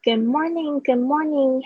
Good morning,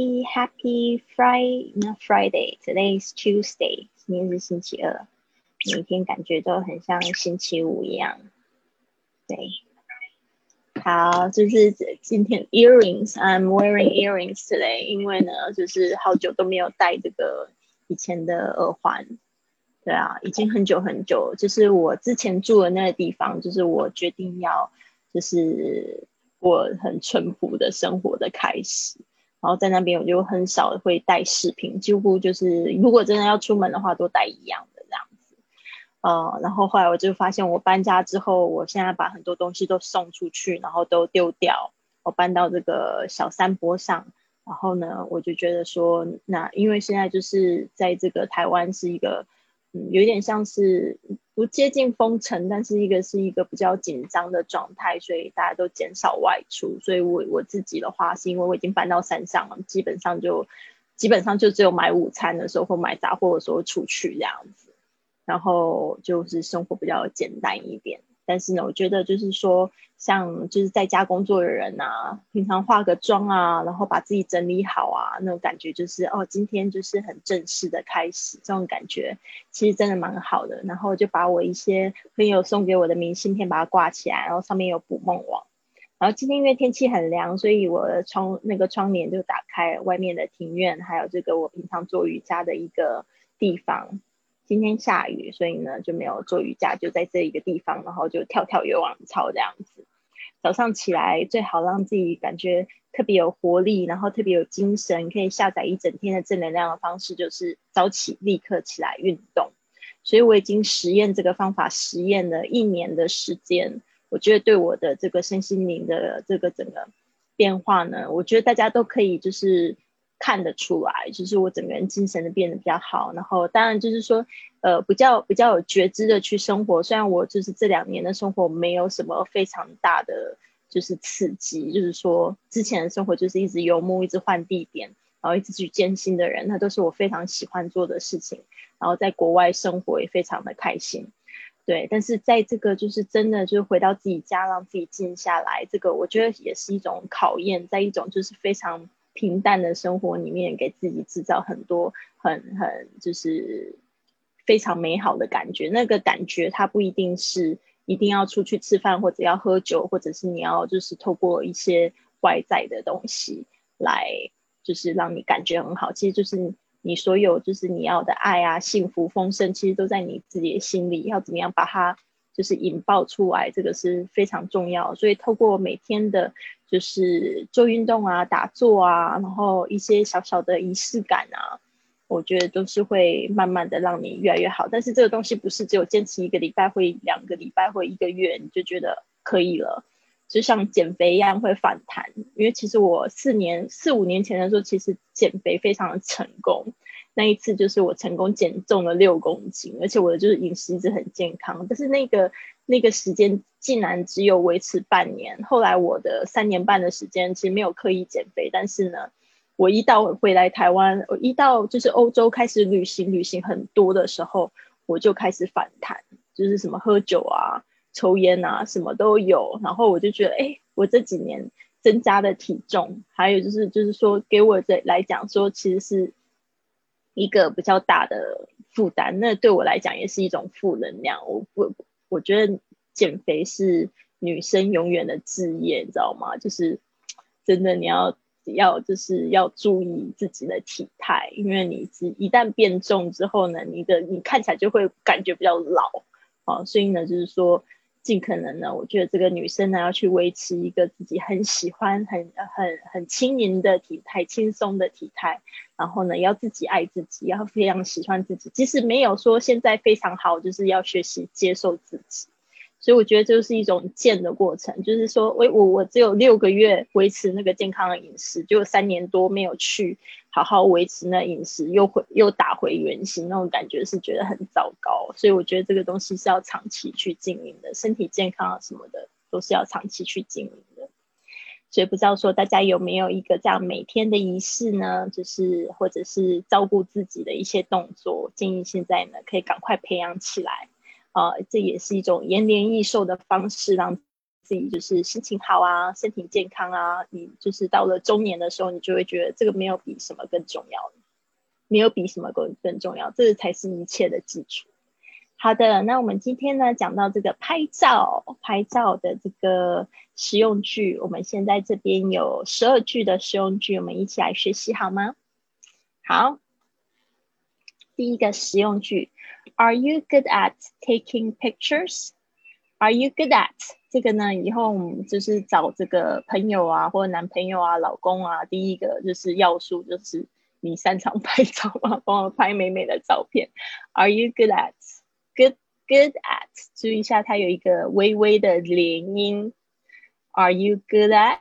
happy Friday, not Friday. Today is Tuesday. 今天是星期二，每天感觉都很像星期五一样。对，好，就是今天 earrings，I'm wearing earrings today，因为呢，就是好久都没有戴这个以前的耳环。对啊，已经很久很久，就是我之前住的那个地方，就是我决定要就是过很淳朴的生活的开始。然后在那边我就很少会带饰品，几乎就是如果真的要出门的话，都带一样的这样子。然后后来我就发现，我搬家之后，我现在把很多东西都送出去，然后都丢掉。我搬到这个小山坡上，然后呢，我就觉得说，那因为现在就是在这个台湾是一个，有点像是不接近封城，但是是一个比较紧张的状态，所以大家都减少外出。所以我自己的话，是因为我已经搬到山上了，基本上就只有买午餐的时候或买杂货的时候出去这样子。然后就是生活比较简单一点。但是呢，我觉得就是说，像就是在家工作的人啊，平常化个妆啊，然后把自己整理好啊，那种感觉就是哦，今天就是很正式的开始，这种感觉其实真的蛮好的。然后就把我一些朋友送给我的明信片把它挂起来，然后上面有捕梦网。然后今天因为天气很凉，所以我的窗帘就打开，外面的庭院，还有这个我平常做瑜伽的一个地方。今天下雨，所以呢就没有做瑜伽，就在这一个地方，然后就跳跳有氧操这样子。早上起来最好让自己感觉特别有活力，然后特别有精神，可以下载一整天的正能量的方式，就是早起立刻起来运动。所以我已经实验这个方法，实验了1年的时间。我觉得对我的这个身心灵的这个整个变化呢，我觉得大家都可以就是看得出来，就是我整个人精神的变得比较好。然后当然就是说，比较有觉知的去生活。虽然我就是这2年的生活没有什么非常大的就是刺激，就是说之前的生活就是一直游牧，一直换地点，然后一直去见新的人，那都是我非常喜欢做的事情。然后在国外生活也非常的开心。对，但是在这个就是真的就是回到自己家，让自己静下来，这个我觉得也是一种考验，在一种就是非常平淡的生活里面，给自己制造很多很就是非常美好的感觉。那个感觉它不一定是一定要出去吃饭，或者要喝酒，或者是你要就是透过一些外在的东西来就是让你感觉很好。其实就是你所有就是你要的爱啊、幸福、丰盛，其实都在你自己的心里。要怎么样把它就是引爆出来，这个是非常重要。所以透过每天的就是做运动啊、打坐啊，然后一些小小的仪式感啊，我觉得都是会慢慢的让你越来越好。但是这个东西不是只有坚持1个礼拜或2个礼拜或1个月你就觉得可以了，就像减肥一样会反弹。因为其实我4、5年前的时候，其实减肥非常的成功。那一次就是我成功减重了6公斤，而且我的就是饮食一直很健康。但是那个时间竟然只有维持半年。后来我的3年半的时间其实没有刻意减肥，但是呢，我一到回来台湾，我一到就是欧洲开始旅行很多的时候，我就开始反弹，就是什么喝酒啊、抽烟啊，什么都有。然后我就觉得，哎，我这几年增加的体重，还有就是说给我来讲说，其实是一个比较大的负担。那对我来讲也是一种负能量。我觉得减肥是女生永远的志业，你知道吗？就是真的你要就是要注意自己的体态，因为你一旦变重之后呢，你看起来就会感觉比较老。所以呢，就是说尽可能呢，我觉得这个女生呢要去维持一个自己很喜欢、很轻盈的体态、轻松的体态。然后呢，要自己爱自己，要非常喜欢自己，即使没有说现在非常好，就是要学习接受自己。所以我觉得这就是一种渐的过程，就是说我只有6个月维持那个健康的饮食，就3年多没有去好好维持那饮食，又打回原形，那种感觉是觉得很糟糕。所以我觉得这个东西是要长期去经营的，身体健康啊什么的都是要长期去经营的。所以不知道说大家有没有一个这样每天的仪式呢？就是或者是照顾自己的一些动作，建议现在呢可以赶快培养起来。这也是一种延年益寿的方式，让自己就是心情好啊，身体健康啊，你就是到了中年的时候，你就会觉得这个没有比什么更重要，没有比什么更重要，这才是一切的基础。好的，那我们今天呢讲到这个拍照的这个实用句，我们现在这边有12句的实用句，我们一起来学习好吗？好，第一个实用句 ，Are you good at taking pictures? Are you good at 这个呢？以后我们就是找这个朋友啊，或者男朋友啊、老公啊，第一个就是要素就是你擅长拍照吗？帮我拍美美的照片。Are you good at good at？ 注意一下，它有一个微微的连音。Are you good at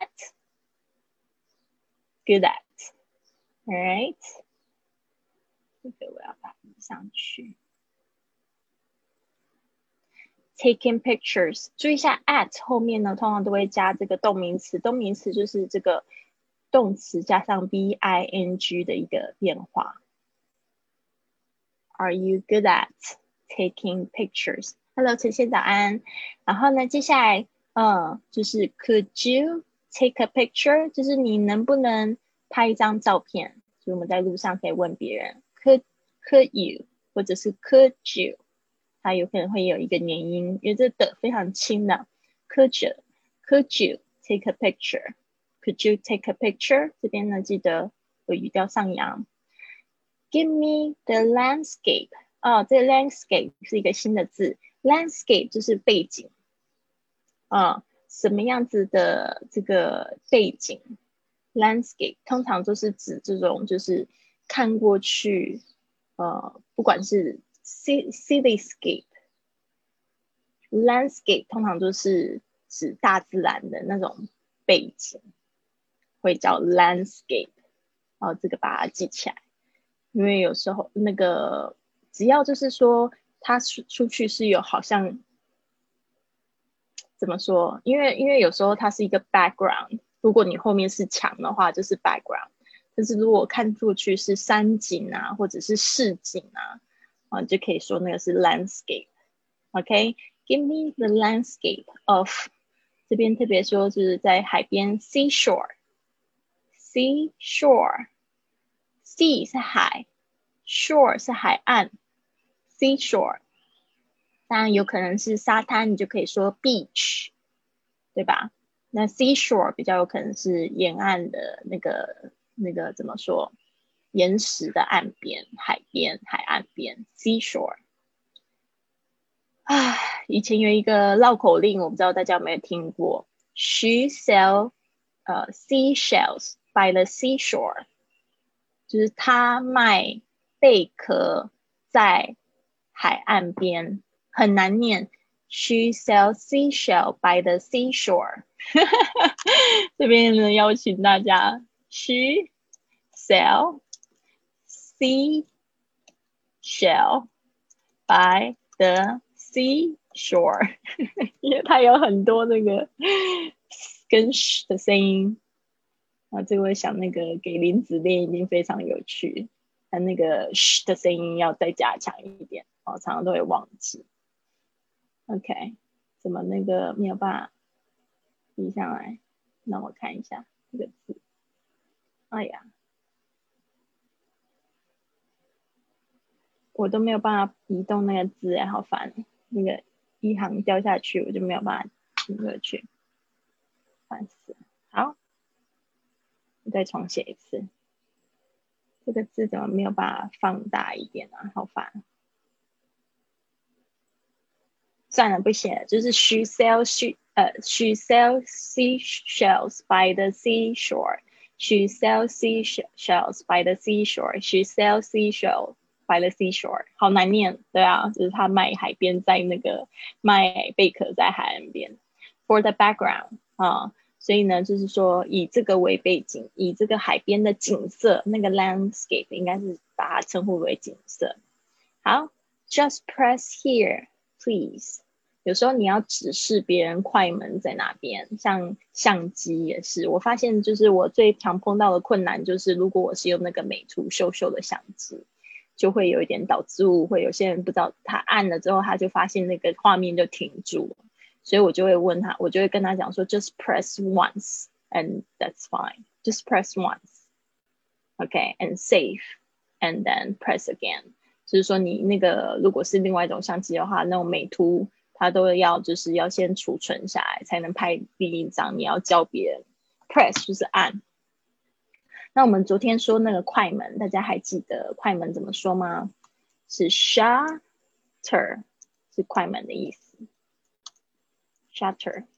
good at？ All right， 这个我要把它上去。Taking pictures， 注意一下 at 后面呢，通常都会加这个动名词，动名词就是这个动词加上 bing 的一个变化。Are you good at taking pictures? Hello， 晨曦早安。然后呢，接下来就是 Could you take a picture？ 就是你能不能拍一张照片？所以我们在路上可以问别人 Could you， 或者是 Could you？它有可能会有一个连音，因为这的非常轻的。Could you take a picture? Could you take a picture? 这边呢，记得有语调上扬。Give me the landscape. 这个 landscape 是一个新的字。landscape 就是背景。什么样子的这个背景 ？landscape 通常都是指这种就是看过去，不管是cityscape landscape 通常都是指大自然的那种背景，会叫 landscape。这个把它记起来，因为有时候那个只要就是说它出去是有好像怎么说？因为有时候它是一个 background， 如果你后面是墙的话，就是 background。但是如果看出去是山景啊，或者是市景啊，就可以说那个是 landscape。OK，Give me the landscape of， 这边特别说就是在海边 seashore。sea 是海 ，shore 是海岸 ，seashore。当然有可能是沙滩，你就可以说 beach， 对吧？那 seashore 比较有可能是沿岸的那个怎么说？岩石的岸边、海边、海岸边 ，seashore。以前有一个绕口令，我不知道大家有没有听过 ？She sell seashells by the seashore， 就是她卖贝壳在海岸边，很难念。She sells seashell by the seashore 。这边呢，邀请大家 ，She sell seashell by the seashore 因为它有很多那个跟 sh 的声音。这个我想那个给林子练一定非常有趣，它那个 sh 的声音要再加强一点，常常都会忘记。OK， 怎么那个没有办法移上来？让我看一下这个字。哎呀，我都没有办法移动那个字，好烦。那个一行掉下去，我就没有办法移过去，烦死了。好，我再重写一次。这个字怎么没有办法放大一点啊？好烦。算了，不写了，就是 she sells seashells by the seashore. She sells seashells by the seashore. She sells seashells by the seashore. 好难念，对啊，就是他卖海边在那个卖贝壳在海岸边。For the background 所以呢，就是说以这个为背景，以这个海边的景色，那个 landscape 应该是把它称呼为景色。好 ，just press here, please。有时候你要指示别人快门在哪边，像相机也是。我发现就是我最常碰到的困难就是，如果我是用那个美图秀秀的相机，就会有一点导致误会。有些人不知道他按了之后，他就发现那个画面就停住了。 所以我就会问他，我就会跟他讲说 just press once and that's fine. Just press once. Okay, and save and then press again. 就是说你那个如果是另外一种相机的话，那种美图它都要就是要先储存下来才能拍第一张，你要教别人 press 就是按。那我们昨天说那个快门，大家还记得快门怎么说吗？是 shutter， 是快门的意思。shutter，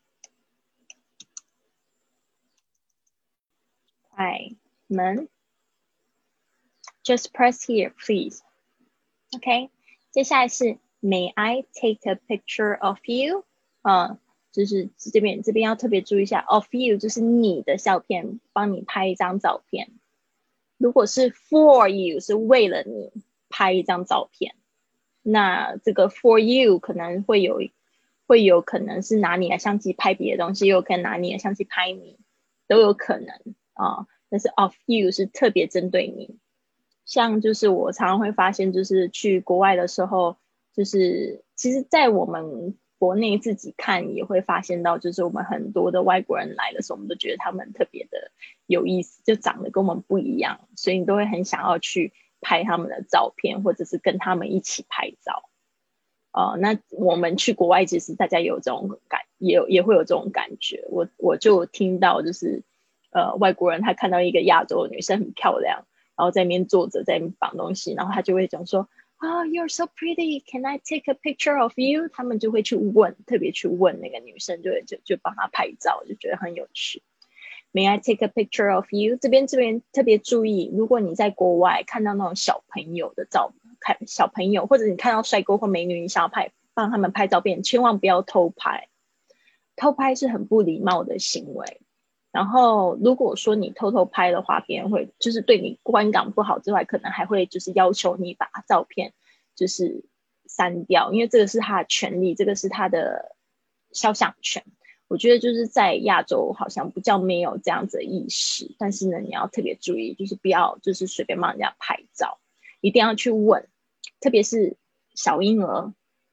快门。Just press here, please. OK， 接下来是 May I take a picture of you？ 就是这边要特别注意一下 ，of you 就是你的照片，帮你拍一张照片。如果是 for you 是为了你拍一张照片，那这个 for you 可能会有可能是拿你的相机拍别的东西，又有可能拿你的相机拍你，都有可能啊。但是 of you 是特别针对你。像就是我常常会发现，就是去国外的时候，就是其实在我们国内自己看也会发现到，就是我们很多的外国人来的时候，我们都觉得他们特别的有意思，就长得跟我们不一样，所以你都会很想要去拍他们的照片，或者是跟他们一起拍照。那我们去国外，其实大家有这种也会有这种感觉。我就听到就是外国人他看到一个亚洲的女生很漂亮，然后在那边坐着，在那边绑东西，然后他就会讲说you're so pretty, can I take a picture of you？ 他们就会去问，特别去问那个女生，就帮她拍照，就觉得很有趣。May I take a picture of you？ 这边特别注意，如果你在国外看到那种小朋友的小朋友，或者你看到帅哥或美女，你想要帮他们拍照片，千万不要偷拍，偷拍是很不礼貌的行为。然后如果说你偷偷拍的话，别人会就是对你观感不好之外，可能还会就是要求你把照片就是删掉，因为这个是他的权利，这个是他的肖像权。我觉得就是在亚洲好像比较没有这样子的意识，但是呢，你要特别注意，就是不要就是随便帮人家拍照，一定要去问，特别是小婴儿，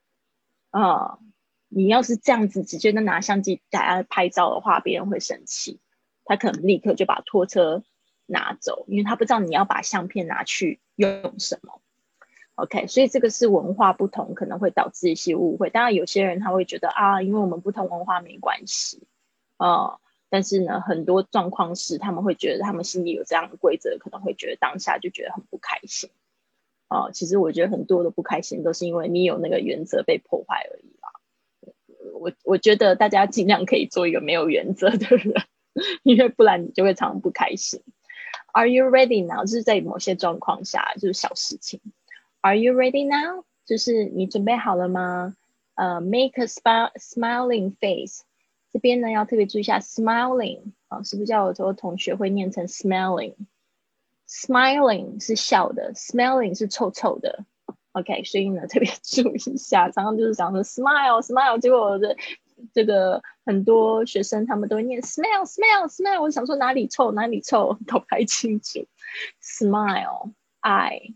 你要是这样子直接拿相机给他拍照的话，别人会生气。他可能立刻就把拖车拿走，因为他不知道你要把相片拿去用什么。OK， 所以这个是文化不同可能会导致一些误会。当然有些人他会觉得因为我们不同文化没关系，但是呢，很多状况是他们会觉得他们心里有这样的规则，可能会觉得当下就觉得很不开心。其实我觉得很多的不开心都是因为你有那个原则被破坏而已啦。我觉得大家尽量可以做一个没有原则的人。因为不然你就会常常不开心。Are you ready now？ 就是在某些状况下，就是小事情。Are you ready now？ 就是你准备好了吗？Make a smiling face。这边呢要特别注意一下 smiling 是不是叫我同学会念成 smiling？Smiling 是笑的 ，smelling 是臭臭的。OK， 所以呢特别注意一下，常常就是讲说 smile， 结果我的这个很多学生他们都会念 smell， 我想说哪里臭，搞不太清楚。Smile，I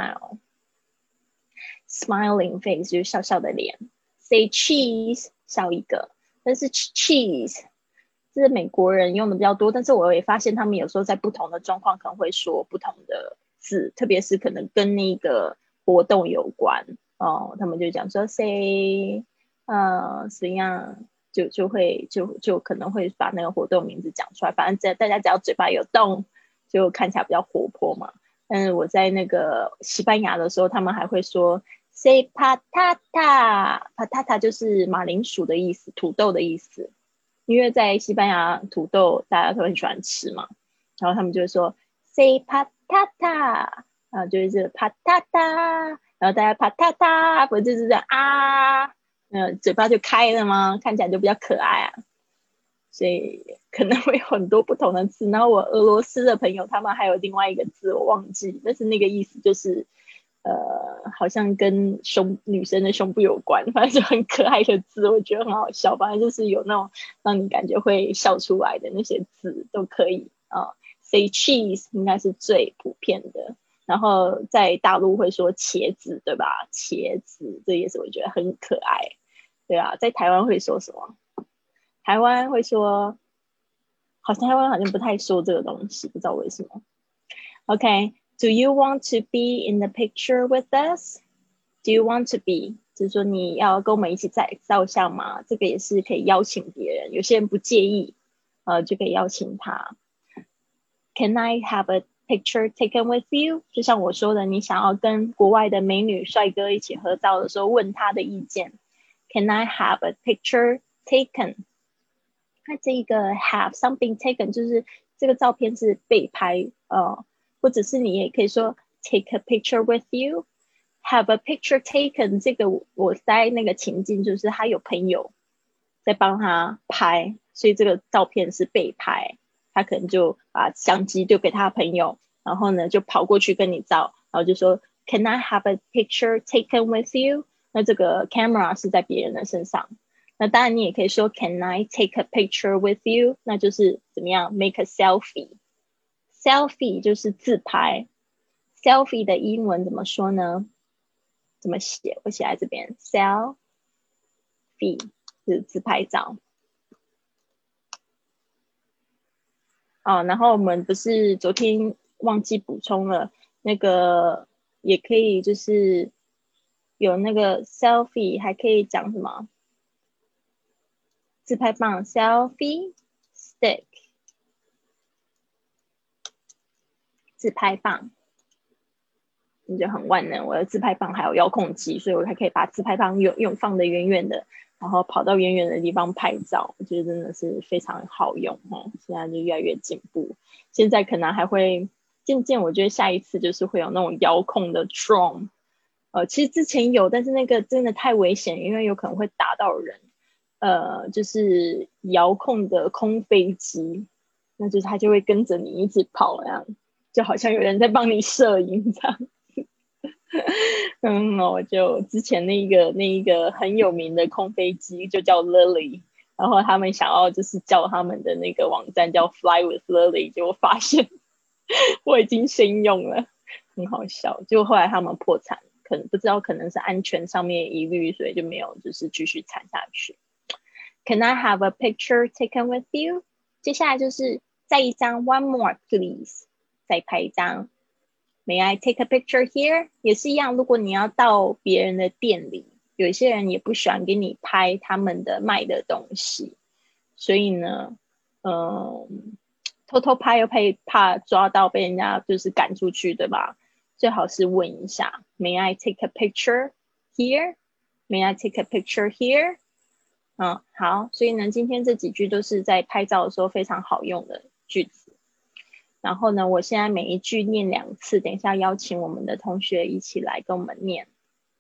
smile，smiling face 就是笑笑的脸。Say cheese， 笑一个，但是 cheese 这是美国人用的比较多，但是我也发现他们有时候在不同的状况可能会说不同的字，特别是可能跟那个活动有关他们就讲说 say。怎样就可能会把那个活动名字讲出来，反正大家只要嘴巴有动，就看起来比较活泼嘛。但是我在那个西班牙的时候，他们还会说 say patata 就是马铃薯的意思，土豆的意思。因为在西班牙土豆大家都很喜欢吃嘛，然后他们就会说 say patata， 就是这个 patata， 然后大家 patata 不就是这样嘴巴就开了吗？看起来就比较可爱所以可能会有很多不同的字。然后我俄罗斯的朋友他们还有另外一个字我忘记，但是那个意思就是好像跟女生的胸部有关，反正就很可爱的字，我觉得很好笑。反正就是有那种让你感觉会笑出来的那些字都可以Say cheese 应该是最普遍的。然后在大陆会说茄子，对吧？茄子这也是我觉得很可爱。 对啊，在台湾会说什么？台湾会说，台湾好像不太说这个东西，不知道为什么。OK，Do you want to be in the picture with us? Do you want to be？就是说你要跟我们一起在照相吗？这个也是可以邀请别人，有些人不介意，就可以邀请他。Can I have a picture taken with you？ 就像我说的，你想要跟国外的美女帅哥一起合照的时候，问他的意见。Can I have a picture taken？ 那这个 have something taken 就是这个照片是被拍，或者是你也可以说 take a picture with you。Have a picture taken 这个我在那个情境就是他有朋友在帮他拍，所以这个照片是被拍，他可能就把相机丢给他朋友，然后呢就跑过去跟你照，然后就说 Can I have a picture taken with you？ 那这个 camera 是在别人的身上，那当然你也可以说 Can I take a picture with you？ 那就是怎么样 make a selfie。 selfie 就是自拍， selfie 的英文怎么说呢？怎么写？我写在这边 selfie 是自拍照。然后我们不是昨天忘记补充了那个，也可以就是有那个 selfie， 还可以讲什么？自拍棒 selfie stick， 自拍棒。你就很万能，我的自拍棒还有遥控器，所以我还可以把自拍棒用放得远远的，然后跑到远远的地方拍照，我觉得真的是非常好用哦。现在就越来越进步，现在可能还会渐渐，我觉得下一次就是会有那种遥控的 drone，其实之前有，但是那个真的太危险，因为有可能会打到人。就是遥控的空飞机，那就是它就会跟着你一起跑，这样就好像有人在帮你摄影这样。我就之前那一个很有名的空飞机就叫 Lily， 然后他们想要就是叫他们的那个网站叫 Fly with Lily， 结果发现我已经先用了，很好笑。就后来他们破产，可能不知道可能是安全上面疑虑，所以就没有就是继续产下去。Can I have a picture taken with you？ 接下来就是再一张 One more please， 再拍一张。May I take a picture here？ 也是一样，如果你要到别人的店里，有一些人也不喜欢给你拍他们的卖的东西，所以呢，偷偷拍又怕抓到被人家就是赶出去，对吧？最好是问一下 May I take a picture here？ May I take a picture here？ 好，所以呢，今天这几句都是在拍照的时候非常好用的句子。然后呢，我现在每一句念2次，等一下邀请我们的同学一起来跟我们念。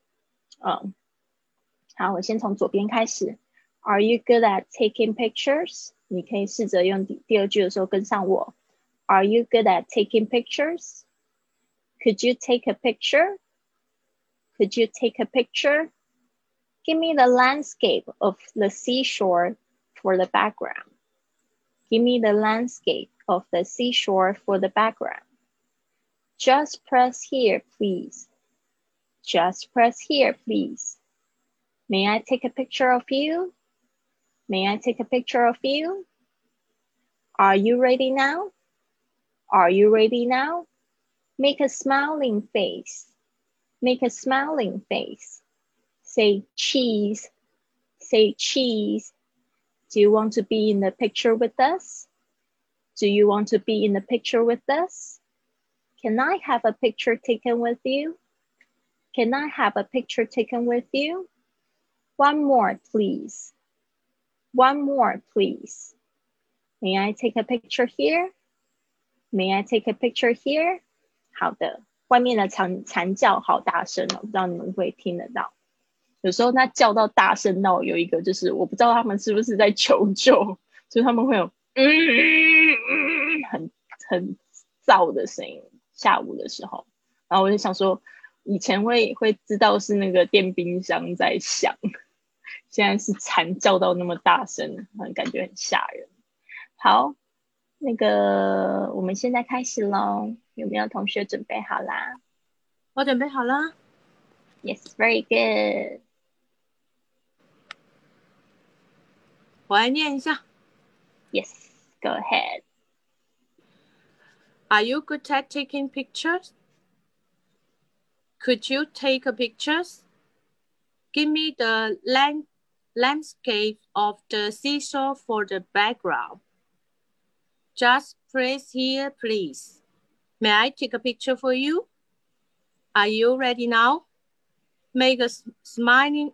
好，我先从左边开始。Are you good at taking pictures？ 你可以试着用第2句的时候跟上我。Are you good at taking pictures？ Could you take a picture？ Could you take a picture？ Give me the landscape of the seashore for the background. Give me the landscape of the seashore for the background. Just press here, please. Just press here, please. May I take a picture of you? May I take a picture of you? Are you ready now? Are you ready now? Make a smiling face. Make a smiling face. Say cheese. Say cheese. Do you want to be in the picture with us? Do you want to be in the picture with us? Can I have a picture taken with you? Can I have a picture taken with you? One more, please. One more, please. May I take a picture here? May I take a picture here? 好的，外面的蝉叫好大声哦，不知道你们会听得到。有时候他叫到大声到有一个就是我不知道他们是不是在求救，就是他们会有很燥的声音，下午的时候。然后我就想说以前会知道是那个电冰箱在响，现在是蝉叫到那么大声，感觉很吓人。好，那个我们现在开始咯，有没有同学准备好啦？ 我准备好了。 Yes, very good. 我来念一下。 Yes, go ahead. Are you good at taking pictures? Could you take pictures? Give me the landscape of the seashore for the background. Just press here, please. May I take a picture for you? Are you ready now? Make a smiling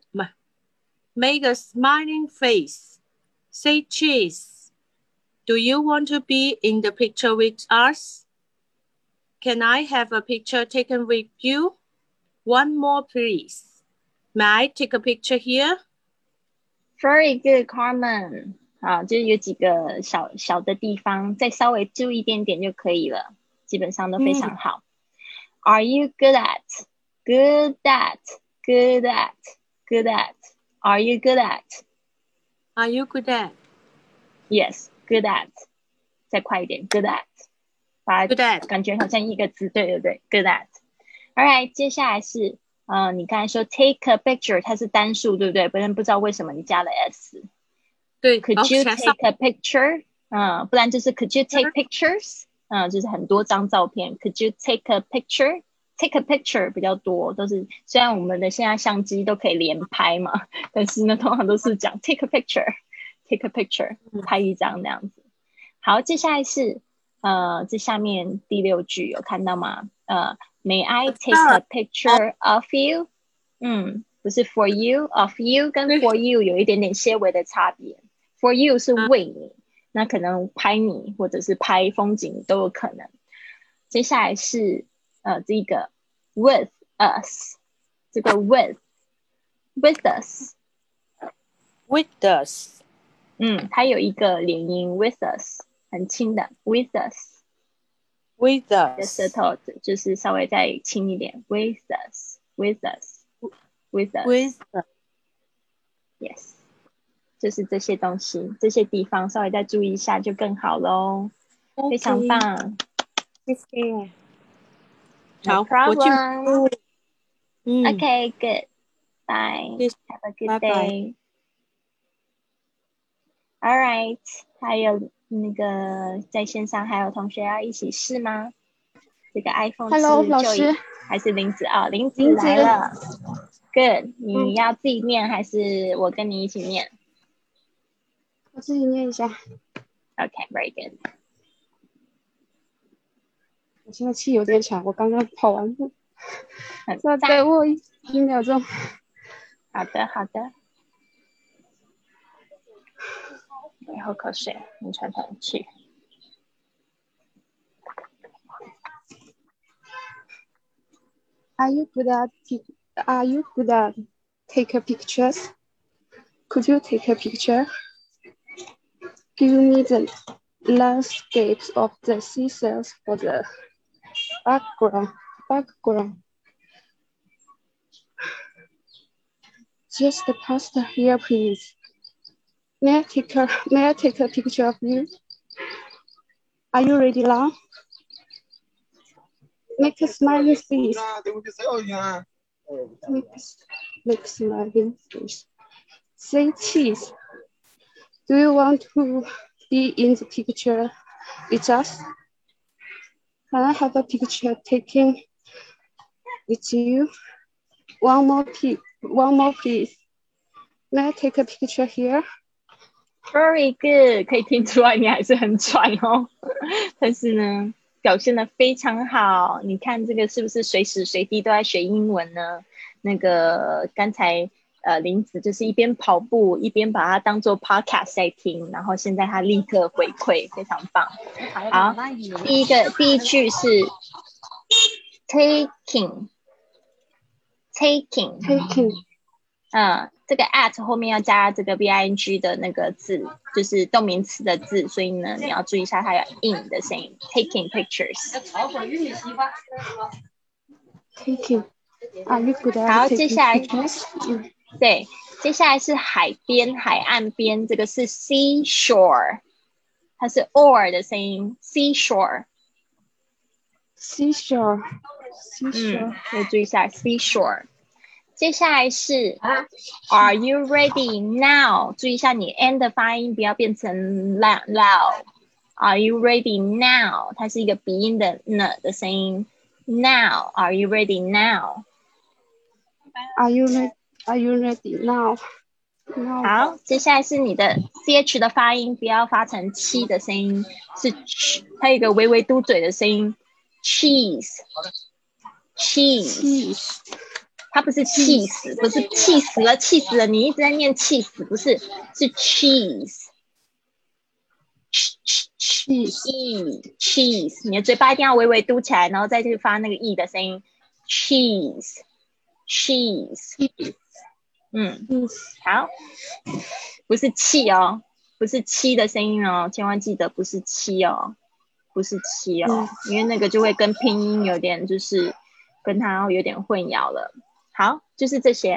face. Say cheese. Do you want to be in the picture with us? Can I have a picture taken with you? One more, please. May I take a picture here? Very good, Carmen. 好，就是有几个小的地方，再稍微注意一点点就可以了，基本上都非常好。Are you good at? Good at? Good at? Good at? Are you good at? Are you good at? Yes, good at. 再快一点 ，good at. 把 Good at. 感觉好像一个字，对对对 ，good at. Alright，接下来是你刚才说 take a picture， 它是单数，对不对？不然不知道为什么你加了 s。 对 Could you take a picture？ 不然就是 Could you take pictures？ 就是很多张照片。Could you take a picture？Take a picture 比较多，都是虽然我们的现在相机都可以连拍嘛，但是呢，通常都是讲 take a picture，take a picture， 拍一张那样子。好，接下来是这下面第6句有看到吗？May I take a picture of you？ 不是 for you，of you 跟 for you 有一点点些微的差别。For you 是为你，那可能拍你或者是拍风景都有可能。接下来是这个 with us， 这个 with us， 它有一个连音 with us， 很轻的 with us， 的舌头就是稍微再轻一点 with us， yes， 就是这些东西，这些地方稍微再注意一下就更好咯。非常棒， 谢谢。 No problem. Okay, good. Bye. Yes. Have a good Bye day. All right. 还有那个在线上还有同学要一起试吗？这个 iPhone 是 Hello 老师还是林子啊？林子来了。Good. 你要自己念还是我跟你一起念？ 我自己念一下。 Okay, very good. 我现在气有点喘，我刚刚跑完步， 再给我1秒钟。 好的，好的。你喝口水，你喘喘气。 Are you good at take a pictures? Could you take a picture? Give me the landscapes of the seashells for the background. Just past here, please. May I take a picture of you? Are you ready now? Make a smiling face. Make a smiling face. Say cheese. Do you want to be in the picture with us? Can I have a picture taken with you? One more, please. May I take a picture here? Very good， 可以听出来你还是很喘哦，但是呢，表现得非常好。你看这个是不是随时随地都在学英文呢？那个刚才林子就是一边跑步一边把它当做 podcast 在听，然后现在他立刻回馈，非常棒。好，第一句是 taking，这个 at 后面要加这个 bing 的那个字，就是动名词的字，所以呢，你要注意一下它有 in 的声音。Taking pictures。 Taking。Are you good at 好，接下来 pictures? 对，接下来是海边、海岸边，这个是 seashore， 它是 or 的声音 ，seashore。 Seashore。 要注意一下 seashore。 接下来是 Are you ready now？ 注意一下你 n 的发音，不要变成 loud。Are you ready now？ 它是一个鼻音的 n 的声音。Now, are you ready now？ Are you ready? Are you ready now? Now. 好，接下来是你的 ch 的发音，不要发成七的声音，是 它有一个微微嘟嘴的声音。Cheese。它不是气死，不是气死了，气死了！你一直在念气死，不是，是 cheese。cheese， 你的嘴巴一定要微微嘟起来，然后再去发那个 e 的声音。cheese。好，不是气哦，不是七的声音哦，千万记得不是七哦，不是七哦，因为那个就会跟拼音有点就是跟它有点混淆了。好，就是这些。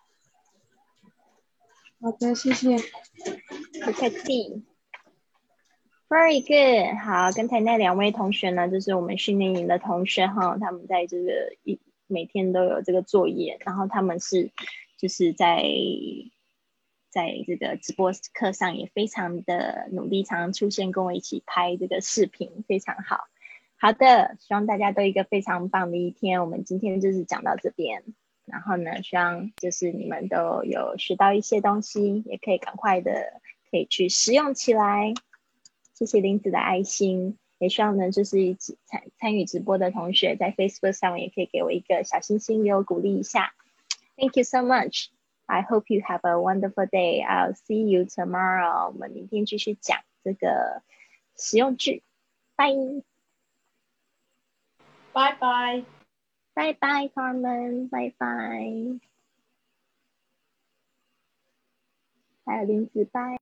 好的，谢谢。 不客气。Very good。好，刚才那两位同学呢，就是我们训练营的同学哈，他们在这个每天都有这个作业，然后他们是就是在这个直播课上也非常的努力，常常出现跟我一起拍这个视频，非常好。好的，希望大家都一个非常棒的一天。我们今天就是讲到这边，然后呢，希望就是你们都有学到一些东西，也可以赶快的可以去实用起来。谢谢林子的爱心，也希望呢就是一起参与直播的同学在 Facebook 上也可以给我一个小星星，给我鼓励一下。Thank you so much. I hope you have a wonderful day. I'll see you tomorrow. 我们明天继续讲这个实用句。Bye. Bye bye. Bye bye, Carmen. Bye bye. 还有林子，拜。